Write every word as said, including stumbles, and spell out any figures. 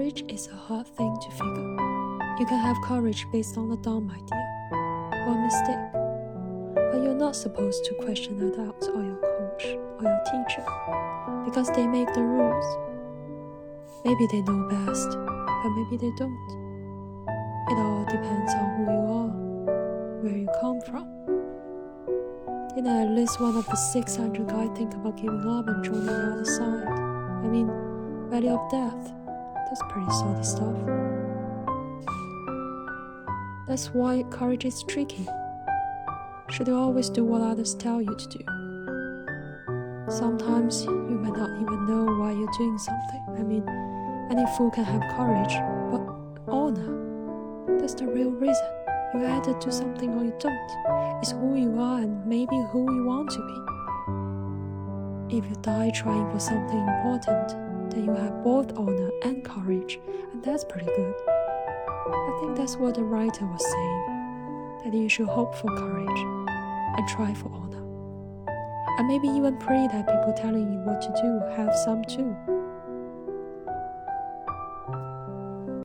Courage is a hard thing to figure. You can have courage based on a dumb idea or a mistake, but you're not supposed to question adults or your coach or your teacher because they make the rules. Maybe they know best, but maybe they don't. It all depends on who you are, where you come from. You know, at least one of the six hundred guys think about giving up and joining the other side. I mean, Valley of Death. That's pretty solid stuff. That's why courage is tricky. Should you always do what others tell you to do? Sometimes you might not even know why you're doing something. I mean, any fool can have courage, but honor, that's the real reason. You either do something or you don't. It's who you are and maybe who you want to be. If you die trying for something important, then you have both honor and courage, and that's pretty good. I think that's what the writer was saying, that you should hope for courage and try for honor. And maybe even pray that people telling you what to do have some too.